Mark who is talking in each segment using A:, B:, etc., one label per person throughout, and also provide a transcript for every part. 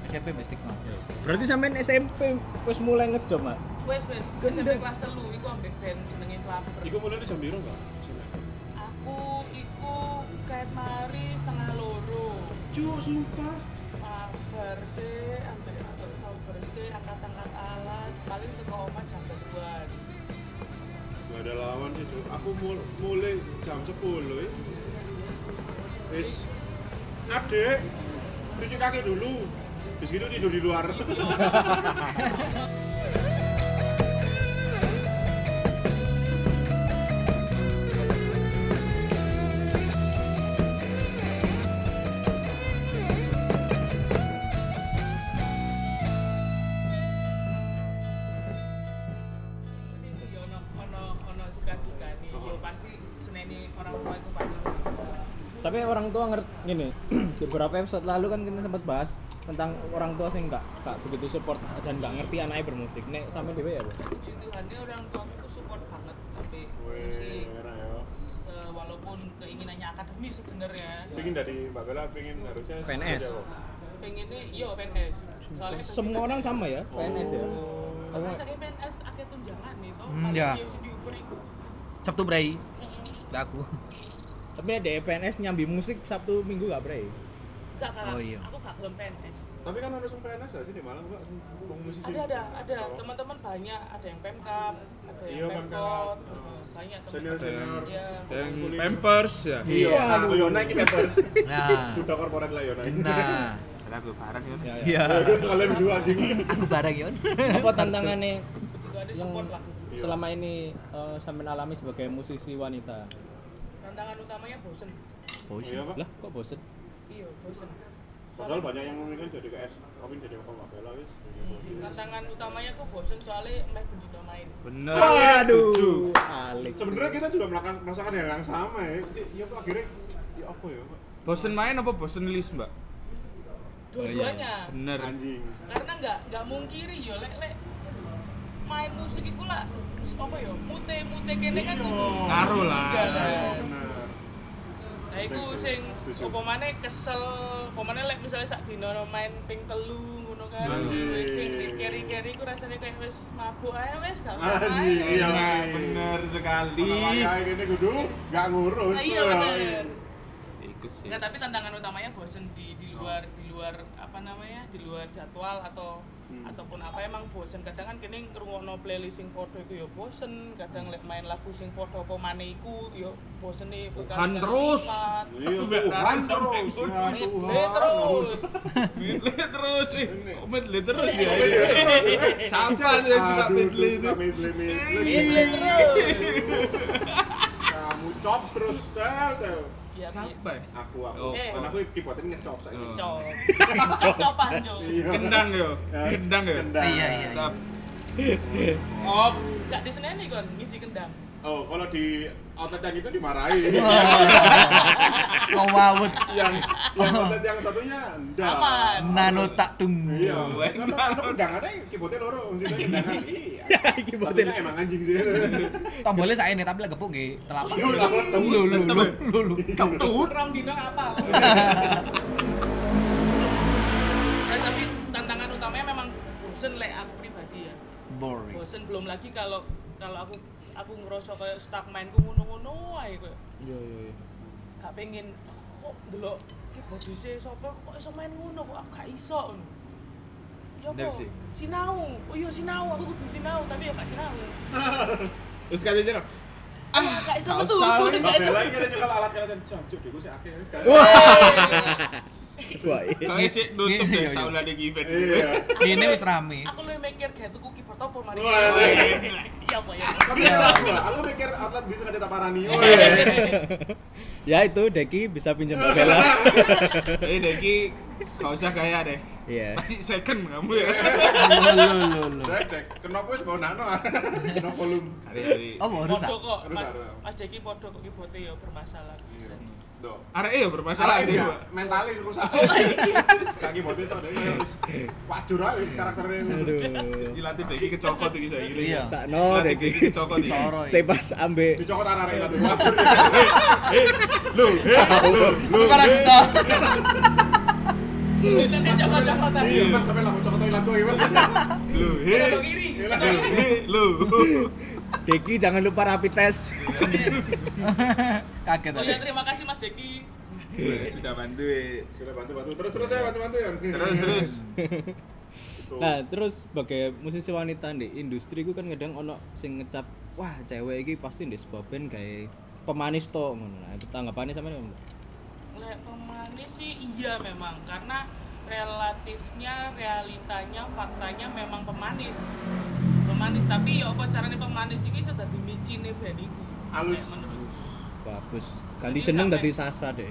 A: SMP wis stigma.
B: Berarti sampean SMP wis mulai ngejob, Mak?
C: Wes SMP kelas 3 iku ambek band jenenge Flaper.
D: Iku mulai jam piro, Kak?
C: Aku iku kayak mari setengah loro.
D: Cuk, sumpah.
C: Sabar sih, ambek sabar sih, angkat-angkat alat, paling teko omah jam 2-an.
D: Gak ada lawan sih, Cuk. Aku mulai jam 10 ya. Wis. Adek, cuci kaki dulu. Terus gitu tidur di luar.
C: Ono suka-duka nih, yo pasti seneni orang tua itu pasti.
B: Tapi orang tua ngerti gini, di beberapa episode lalu kan kita sempat bahas tentang orang tua sih nggak begitu support dan nggak ngerti anaknya bermusik. Nek sampe dhewe ya, Bu?
C: Puji Tuhannya orang tua itu support banget tapi musik. Walaupun keinginannya akademis sebenarnya.
D: Pengen dari Mbak Bella, pengen harusnya
B: PNS.
C: Pengennya iya PNS. Soalnya
B: Semua orang sama ya, PNS ya.
C: karena saya PNS akeh tunjangan nih toh.
A: Iya.
C: Diukur iku.
A: Sabtu Bray. Aku.
B: Tapi ada PNS nyambi musik Sabtu Minggu gak, Bre?
C: Enggak kan.
A: Oh, iya.
C: Aku gak gelem PNS.
D: Tapi kan harus PNS gak sih di Malang, Mbak? Wong musisi.
C: Ada.
D: Oh.
C: Teman-teman banyak, ada yang Pemkap, ada
D: Iya,
C: yang
D: Pemkap.
C: Pemkot. Banyak
D: Senior.
C: teman-teman. Iya.
E: Dan Pampers ya.
D: Iya, aku Yona iki Pampers.
A: Nah.
D: Udah korporat lah Yona.
A: Nah.
E: Salah gue barang ya.
B: Ya, ya.
A: Iya.
D: Kalian berdua anjing.
A: Aku bareng yon.
B: Apa tantangannya
C: Juga ada
B: yang
C: support lah.
B: selama ini sampean alami sebagai musisi wanita?
C: Tantangan utamanya bosen.
D: Iya, Pak.
B: Lah, kok bosen?
C: Iya, bosen.
D: Padahal banyak yang kan jadi KS, kami jadi Mbak Bella wis.
C: Tantangan utamanya tuh bosen soalnya meh bendino main.
E: Bener.
B: Waduh, Alex.
D: Sebenarnya kita juga merasakan hal yang sama ya. Iya, Pak, akhirnya ya apa ya, Pak?
E: Bosen main apa bosen list, Mbak?
C: Dua-duanya.
E: Bener.
D: Anjing.
C: Karena nggak mungkiri yo lek main musik iku lah apa yo mute kene kan kudu
E: Ngaruh lah.
C: Iya, kan.
D: Benar.
C: Nah iku sing apa maneh kesel, apa maneh lek misale sak dina main ping 3 ngono kan.
D: Anjing.
C: Wis sing keri-keri iku rasane kayak wis mabuk ae wis gak
D: Anjing,
C: ae.
D: iya.
E: Bener sekali.
D: Kalau kayak gini kudu gak ngurus.
C: Iya bener.
E: Iku sih.
C: Enggak, tapi tantangan utamanya bosen di luar apa namanya? Di luar jadwal ataupun apa emang bosen. Kadang kan kene ngrungokno playlist sing padha iku ya bosen, kadang lek main lagu sing padha apa maneh iku ya bosen nih
E: Tuhan terus.
D: Iya, Tuhan terus. Ya
C: terus.
E: Medley terus nih. Medley terus ya.
D: Tuhan.
E: Sampai dia suka medley itu.
C: Medley terus.
D: Kamu chops terus, cel.
C: Iya,
E: Sampai.
D: Aku.
E: Oh.
D: Kan aku keyboardnya ngechop saiki.
E: Oh.
C: Copan jo.
D: Iya.
E: Kendang yo. Kendang yo.
D: Kendang.
A: Iya.
E: Tetap. Op.
C: Enggak diseneni kon ngisi kendang.
D: Oh, kalau di outlet yang itu dimarahi.
A: Kau wawut.
D: yang outlet yang satunya enggak.
C: Aman.
A: Nano tak tung.
D: Iya.
E: Wes,
D: Karena kendang ada keyboardnya loro, maksudnya kendangan. Iya.
B: Keyboardnya.
D: Satunya emang anjing sih.
A: Tombolnya saya ini tapi lagi gepuk nggih telapak.
E: Lu.
C: Rong dino apal. Nah, tapi tantangan utamanya memang bosen lek aku pribadi ya.
A: Boring.
C: Bosen belum lagi kalau aku ngerasa kayak stuck mainku ngono-ngono ae koyo.
B: Iya.
C: Gak pengen kok ndelok keyboardise sapa kok iso main ngono kok aku gak iso ngono. Ya
E: Bener
C: apa?
E: sih.
C: Sinau. Oh iya sinau, aku kudu sinau tapi ya gak sinau.
E: Terus katanya
C: Gak iso metu.
E: salah.
D: Mbak Bella ini katanya kalau alat kalian jancuk deh, gue sih akeh wis kan.
B: Wah,
E: kau isi nutup deh
A: Iya.
E: saula di event.
D: Iya.
A: Ini wis rame.
C: Aku lu mikir kayak tuku keyboard apa mari.
D: Wah, iya.
C: Iya apa ya?
D: Tapi aku mikir outlet bisa kan ditaparani.
B: ya itu Deki bisa pinjam Mbak Bella.
E: Deki kau usah gaya deh.
B: Iya.
E: Pasti second kamu ya.
A: Lu.
D: Dek, kenapa wis bawa nano? Kenapa volume?
E: Hari-hari.
A: Oh, mau rusak.
C: Podo kok,
D: Harus
C: Mas.
D: ada.
C: Mas Deki podo kok keyboardnya ya bermasalah.
D: Do.
E: Arek ya bermasalah sih,
D: Salah
E: Pak.
D: mentalnya rusak. Kaki bodi itu ada wis wajur ae wis karakternya.
B: Aduh.
E: Dilatih Deki kecokot iki saya ini.
A: Iya.
B: Sakno
E: Dilatih
B: Deki.
E: kecokot iki.
A: Soro.
B: Saya pas ambe
D: Dicokot arek-arek itu wajur.
E: Lu.
A: Lu para duta.
C: Nanti cokot-cokot tadi.
D: Iya, Mas sampe langsung cokot lagu ya, Mas.
E: Lu,
C: Belok kiri. belok kiri.
E: lu.
B: Deki jangan lupa rapid test.
A: Kaget
C: Oh
A: tadi.
C: ya terima kasih Mas Deki.
E: Sudah bantu.
D: Sudah bantu. Terus saya bantu ya.
E: Terus.
B: Nah, terus sebagai musisi wanita di industri ku kan kadang ono sing ngecap, wah cewek iki pasti ndek sebuah band gawe pemanis to ngono. Nah, tanggapannya sampean ngono.
C: Lek pemanis sih iya memang karena realitanya, faktanya memang pemanis. Tapi ya apa carane pemanis iki sudah dimicine band iku.
D: Halus.
C: Lek menurut.
B: Bagus. Ganti jeneng dadi Sasa deh.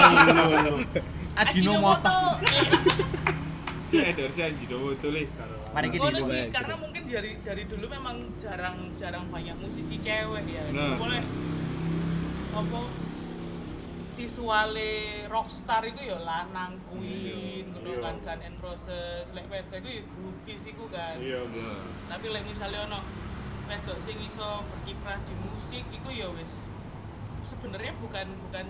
A: Ajinomoto.
E: Cek endorse Ajinomoto le.
A: Mari kita
C: Ngono
A: disuruh.
C: sih, karena mungkin dari dulu memang jarang banyak musisi cewek ya.
E: Nah.
C: Boleh apa visuale rockstar itu ya lanang Queen, ngono
D: Iya.
C: kan Guns N' Roses, lek wedok iku ya groupies iku kan.
D: Iya.
C: Tapi lek misalnya ono wedok sing iso berkiprah di musik iku ya wis sebenarnya bukan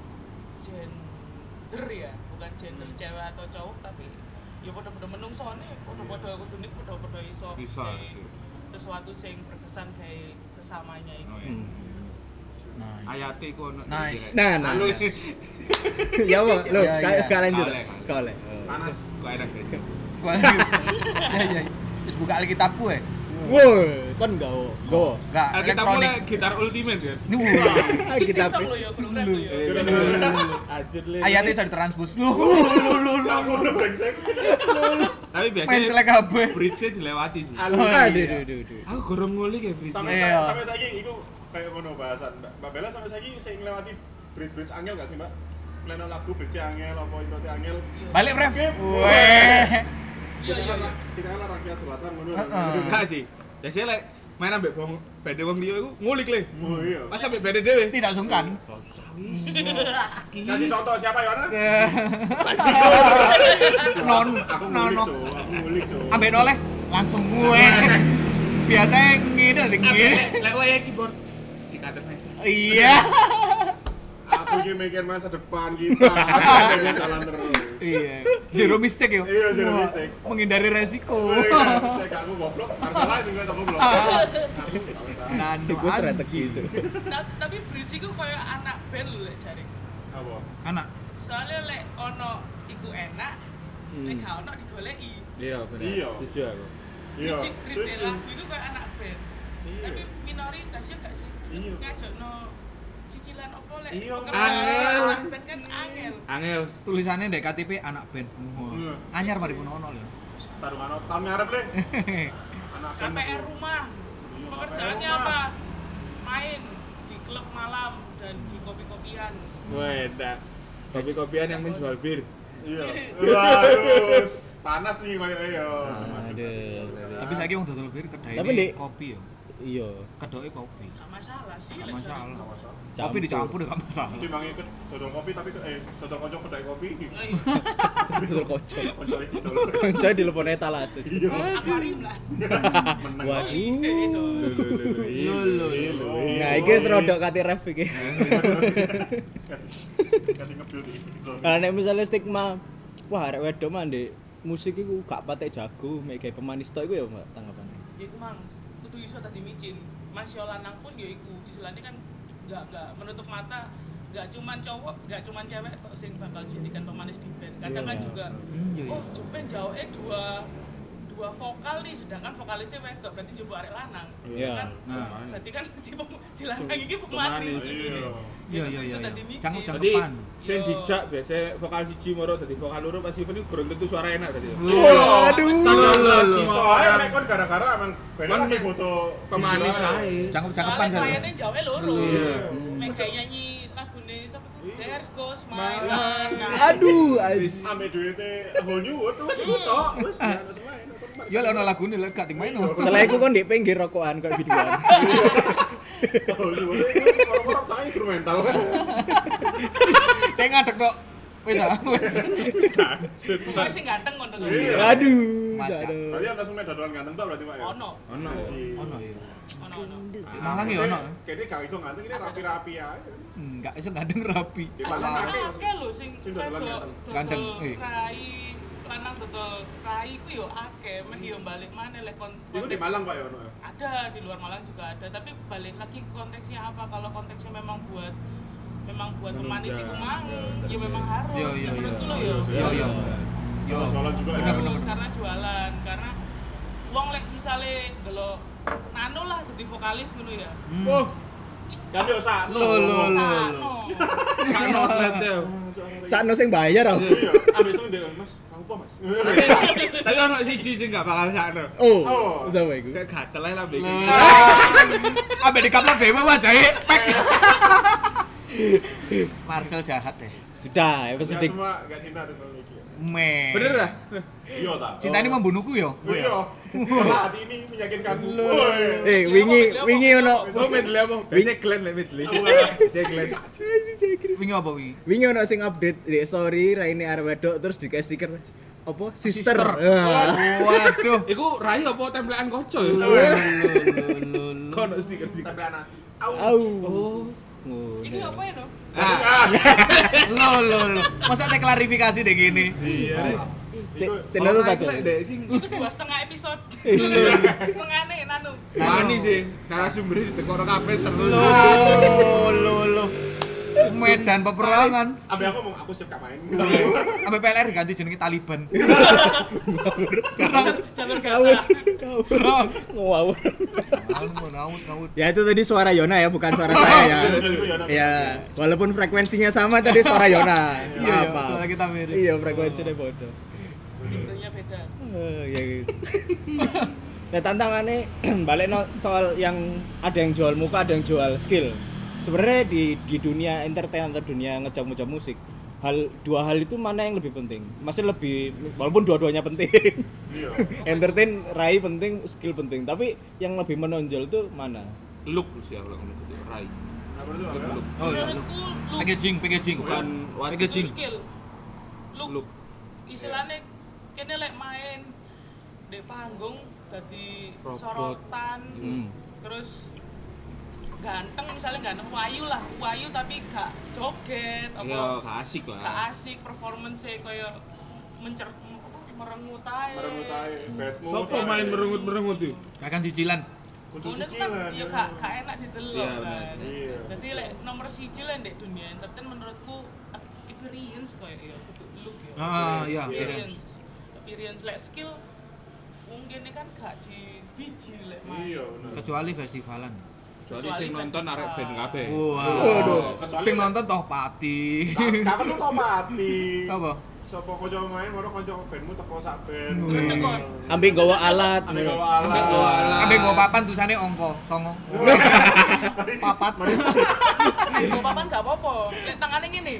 C: gender ya, bukan gender cewek atau cowok tapi ya padha-padha menungsone, padha-padha kudune padha-padha iso
E: Bisa
C: gawe
E: sih.
C: sesuatu sing berkesan kayak sesamanya itu.
E: Oh, iya.
A: Nice.
E: Ayate iku ono.
A: Nice.
B: Nah,
E: Halus.
B: ya apa? Lo
A: Ya, ya.
B: gak lanjut.
E: Kale.
B: Kau le.
D: Panas.
E: Kok enak aja.
A: Gua ya. Wis buka Alkitabku ya.
B: Woi, kan go.
A: Enggak
E: Kita
A: elektronik.
E: mulai gitar ultimate ya.
A: Wah.
B: Kita
C: Sing lo ya kurang rap lo ya.
B: Ajur le.
A: Ayatnya bisa ditranspus. Lu.
D: Aku udah brengsek.
E: Tapi
A: Main
E: biasanya
A: celek kabeh.
E: bridge-nya dilewati sih.
B: Aduh.
E: Aku gorong ngulik ya bridge.
D: Sampai
A: Iya.
D: saiki iku kayak ngono bahasan. Mbak Bella sampai saiki sing nglewati bridge angel gak sih, Mbak? Leno lagu bridge angel apa introte angel.
A: Balik ref.
D: Skip.
A: Weh.
C: Iya iya iya.
D: Kita kan rakyat selatan ngono.
A: Heeh.
E: Enggak sih. Biasanya lek main ambek bede wong liya iku ngulik le.
D: Oh iya.
E: Pas ambek bede dhewe.
A: Tidak sungkan.
D: Kasih contoh siapa Yohana?
A: Non
D: Aku
A: nono.
D: ngulik, Cuk.
A: Ambek noleh langsung gue. Biasanya ngene ngene.
E: Lek wae keyboard si kader Nesa.
A: Iya.
D: Aku iki mikir masa depan kita. Akhirnya jalan terus.
A: Iya. Zero mistake yo.
D: Iya, zero
A: Wah,
D: mistake.
A: menghindari resiko.
D: Cek aku goblok, masalah sing kowe goblok.
A: Nano
B: Iku strategi itu.
C: Tapi bridge iku koyo anak band lho lek jare.
D: Apa?
A: Anak.
C: Soalnya lek ono iku enak, lek gak ono digoleki.
E: Iya, bener.
D: Iya.
E: Setuju aku.
D: Iya.
C: Bridge lagu itu kayak anak band. Tapi minoritas ya gak sih?
D: Iya.
C: Ngajakno cicilan opo lek?
D: Iya,
C: pekerjaan
E: angel.
C: anak band kan angel.
E: Angel.
A: Tulisannya dek KTP anak band.
D: Iya.
A: Anyar mari pun ono lho.
D: Tarungan tahun ngarep le. Anak kan.
C: KPR rumah.
D: Iya,
C: Pekerjaannya
D: KPR rumah.
C: apa? Main di klub malam dan di kopi-kopian.
E: Weda. Kopi-kopian yang menjual bir.
D: Iya. Waduh, panas nih koyo yo.
A: Tapi saiki wong dodol bir kedai
B: Tapi, Dik.
A: kopi yo.
B: Iya.
A: Kedoke kopi.
C: Gak masalah sih.
A: Gak
C: lek
A: masalah.
C: soalnya.
A: Kopi dicampur ya gak masalah.
D: Timbang ikut dodol kopi tapi dodol kocok kedai kopi.
C: Oh iya,
B: Betul kocok.
D: Kocok itu dodol.
B: Konco di lepon etalase.
D: Iya.
C: akuarium lah.
D: Menang.
B: Waduh.
C: Itu.
B: Nah, iki wis rodok kate ref iki.
D: Sekali nge-build iki.
B: Nah, nek misalnya stigma, wah arek wedok mah ndek musik iku gak patek jago, mek gawe pemanis tok iku ya Mbak tanggapannya.
C: Ya iku mang kudu iso tadi micin. Mas yo lanang pun ya iku istilahnya kan enggak menutup mata, enggak cuman cowok, enggak cuman cewek tok sing bakal dijadikan pemanis di band. Kadang kan
B: Iya.
C: juga
A: Iya.
C: oh Jupen jauhnya dua vokal nih, sedangkan vokalisnya wedok berarti coba arek lanang.
B: Iya.
C: Kan?
A: Nah.
C: Berarti kan si lanang iki pemanis.
D: Iya.
A: Iya iya
C: Bisa
A: iya.
C: tadi micin.
A: Cangkep
E: Jadi
A: cangkepan.
E: sing dijak biasanya vokal siji moro dadi vokal loro pas event iku kurang tentu suara enak tadi.
B: Waduh.
D: Soalnya mek kon gara-gara emang beda
E: Kon
D: lagi
E: mek
D: foto
E: Pemanis ae.
A: Cangkep cangkepan
C: Soalnya
A: saya.
C: kliennya jauhnya loro.
E: Iya.
C: Mek kayak nyanyi lagune sapa tuh? There's Goes My
E: My
C: Love.
E: Love.
B: Aduh, ais.
D: ame duwite whole new world wis iku tok wis ya wis main.
A: Ya lek ono lagune lek gak ting main.
B: Setelah iku kon ndek pinggir rokokan kok videoan.
D: Whole new world orang-orang tak instrumental.
A: Teng ngadeg tok. Wis ah.
C: Pokoknya sing ganteng ngono kan.
D: Iya.
B: Aduh.
A: Macak.
B: Aduh.
D: Berarti ono sing dodolan ganteng tok berarti Pak ya.
C: Ono.
E: Ono.
A: Ono ya.
C: Ono.
A: Di Malang ya ono.
D: Kayaknya gak iso ganteng ini rapi-rapi aja.
A: Enggak iso gandeng rapi.
D: Di Malang
C: Masalah
D: akeh.
C: akeh lho sing
D: Sing dodolan
C: wedok
D: ganteng.
A: Ganteng,
C: dodol
A: eh.
C: rai lanang dodol rai ku yo akeh, men yo balik maneh lek
D: Itu di Malang Pak ya ono ya.
C: ada di luar Malang juga ada, tapi balik lagi konteksnya apa. Kalau konteksnya memang buat pemanis iku mang, ya memang harus.
A: Iya.
C: Menurutku lo yo.
A: Yo.
D: Jualan juga ya.
C: Harus karena jualan, karena wong lek misale delok nano lah jadi vokalis ngono ya.
D: Oh. Kan yo sakno.
C: Sakno.
E: Kan outlet ya.
B: Sakno sing bayar aku.
D: Iya, ambek sing ndek Mas. Apa Mas?
E: Tapi ono siji sing gak bakal sakno.
B: Oh, sama iku.
E: Kayak gatel ae lambe.
A: Ambek di kapal bewa wajahe pek. Marcel jahat deh.
B: Sudah,
D: Enggak
B: episode
D: semua enggak cinta dengan iki.
A: Me.
E: Bener dah?
D: Iya ta.
A: Cinta ini membunuhku yo.
D: Iya. Kalau hati ini meyakinkanmu. Woi.
B: wingi ono
E: Oh, medley apa? Biasa Glenn lek medley. Biasa Glenn.
A: Wingi apa wingi?
B: wingi ono sing update di story Raine arep wedok terus dikasih stiker apa? Sister.
A: Sister.
B: Ah.
A: Waduh.
E: Iku rai apa templekan koco ya? Kono stiker-stiker.
D: Tempelan hati.
B: Au.
E: Oh.
C: Ini apa ya no?
A: Lo. Masa ada klarifikasi deh gini?
E: Iya.
B: Sing nonton
E: Ora,
B: aja.
E: iku lek dek sing
C: Itu 2,5 episode. Setengah nih nanu.
E: Mani sih, narasumber di tekor kabeh seru.
A: Lo. Medan peperangan.
D: Ambil aku mau aku siap gak main.
A: Sampai PLR diganti jenenge Taliban.
C: Jalur Gaza.
B: Ngawur.
A: Ngawut.
B: Ya itu tadi suara Yona ya, bukan suara saya ya. Ya, walaupun frekuensinya sama tadi suara Yona.
A: Iya,
B: Apa?
A: suara kita mirip.
B: Iya, frekuensinya bodoh.
C: Intinya beda.
B: Ya gitu. Nah, tantangannya balik soal yang ada yang jual muka, ada yang jual skill. Sebenarnya di dunia entertain atau dunia ngejam-ngejam musik, dua hal itu mana yang lebih penting? Masih lebih, walaupun dua-duanya penting.
D: Iya.
B: Entertain, rai penting, skill penting. Tapi yang lebih menonjol itu mana?
E: Look sih aku ngomong gitu, rai.
D: Apa itu? Apa?
A: Oh iya.
C: Menurutku look
A: Packaging.
E: Bukan
A: Packaging.
C: skill.
E: Look.
C: Istilahnya kene lek main di panggung dadi
E: Robot.
C: sorotan. Terus ganteng, misalnya ganteng wayu tapi gak joget apa
E: Ya, gak asik
C: gak
E: lah.
C: asik performance-e kaya merengut ae.
D: Merengut ae, bad mood.
E: Sopo main merengut-merengut itu?
A: Akan cicilan.
D: Kudu
C: Ngono kan
D: cicilan.
C: ya gak enak didelok
E: Iya,
C: kan.
E: bener.
D: Iya.
C: Jadi lek nomor 1 lah ndek dunia entertain menurutku experience kaya ya kudu look ya.
A: Iya.
C: Experience lek skill mungkin kan gak di biji lek main.
D: Iya, bener.
A: Kecuali festivalan.
E: Kecuali sing nonton arek band kabeh.
A: Waduh.
D: Kecuali
A: Sing
D: kan-
A: nonton toh pati.
D: Gak perlu tau mati.
A: Apa?
D: Sopo kanca main, moro kanca bandmu teko sak band.
C: Tekon.
B: Ambil gawa alat.
D: Ambil gawa alat.
A: Ambek nggo papan tulisane angka 9. Papat.
C: Nggo papan gak apa-apa. Lek tangane ngene.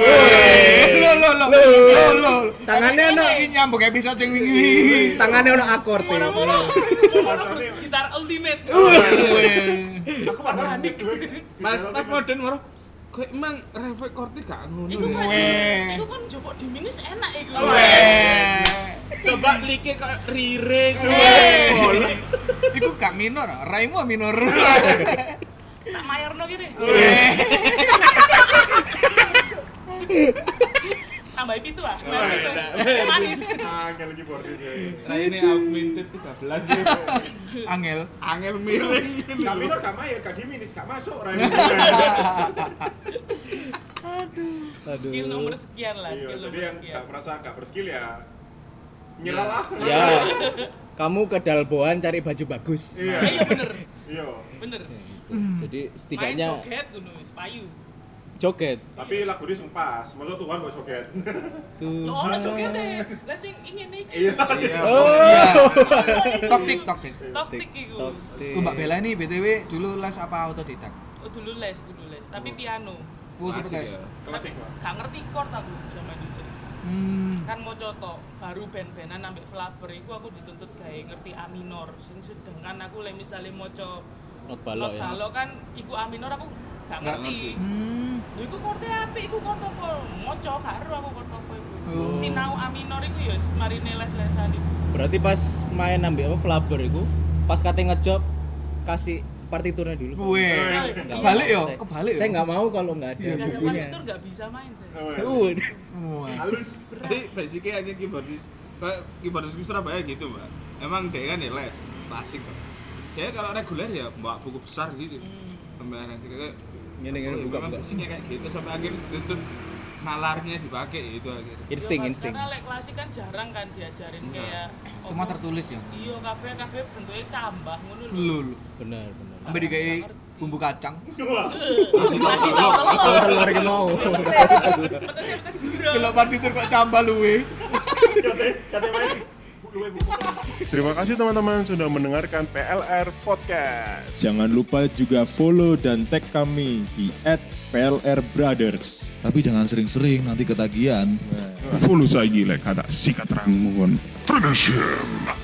A: Lo.
B: Tangannya ono
A: Iki nyambung episode sing wingi.
B: tangannya ono akord.
C: Moro-moro gitar ultimate.
D: Aku padahal
E: Pas modern moro. Kok emang record gak ngono.
C: Iku
E: ya?
C: kan iku kan jopok di minis enak iku.
E: Coba like kok riring.
A: Iku gak minor, raimu minor.
C: Tak mayorno gini. Tambah pitu ah. Manis.
D: angel keyboardis ya.
E: Nah ini augmented 13 ya.
A: Angel.
E: Angel miring.
D: Gak minor, gak mayor, gak diminis, gak masuk.
C: Skill nomor sekian lah,
D: Iya,
C: skill
D: jadi
C: nomor
D: yang
C: sekian.
D: gak merasa gak berskill ya nyerah lah.
B: Ya. Kamu ke Dalboan cari baju bagus.
D: Iya.
C: Iya bener.
D: Iya.
C: Bener.
B: Jadi
C: Main
B: setidaknya
C: joget ngono wis payu.
B: joget.
D: Tapi lagu ini sempas, maksud Tuhan mau joget.
B: Tuh.
C: Yo ono jogete. Lah sing ingin iki.
D: Iya.
B: Oh.
A: Toktik.
C: Toktik iku.
A: Tuh Mbak Bella ini BTW dulu les apa autodidak?
C: Oh dulu les, tapi piano.
A: Sempet les.
D: Klasik, Pak.
C: Gak ngerti chord aku zaman dhisik. Kan mau coto baru band-bandan ambek Flaber iku aku dituntut gawe ngerti A minor. Sing sedangkan aku lek misale maca
B: Not balok ya.
C: Kalau kan iku A minor aku gak ngerti. Lho iku chorde apik, iku chord apa? Maca gak ero aku chord apa iku. Sinau A minor iku ya marine les-lesan iku.
B: Berarti pas main ambil apa Flaber itu, pas kate ngejob kasih partiturnya dulu.
A: Weh.
B: Nggak
A: Kebalik
B: mau.
A: yo,
B: Saya-
A: kebalik.
B: Saya nggak mau kalau nggak ada
C: Gak ada
B: bukunya.
C: partitur gak bisa main saya.
D: Oh, iya.
B: Waduh.
D: Halus.
E: Jadi basicnya aja keyboardis kayak ibaratku Surabaya gitu mbak. Emang dia kan ya les klasik kan. Kayak kalau reguler ya bawa buku besar gitu. Pembayaran kayak
B: Ngene buka-buka.
E: Isinya kayak gitu sampai akhirnya tuntut nalarnya dipakai itu akhirnya.
B: Insting.
C: Karena lek klasik kan jarang kan diajarin kayak
A: Cuma tertulis ya.
C: iya kabeh bentuknya cambah ngono lho.
A: Lul.
B: Bener.
A: Sampai dikai bumbu kacang.
C: Masih tahu
B: Telur iki mau.
C: pedes bro.
A: Kalau partitur kok cambah luwe.
D: Kate main luwe buku. Terima kasih teman-teman sudah mendengarkan PLR Podcast.
F: Jangan lupa juga follow dan tag kami di @PLRBrothers.
G: Tapi jangan sering-sering, nanti ketagihan.
H: Follow saja lek ada sikat rangmu kon. Finish him.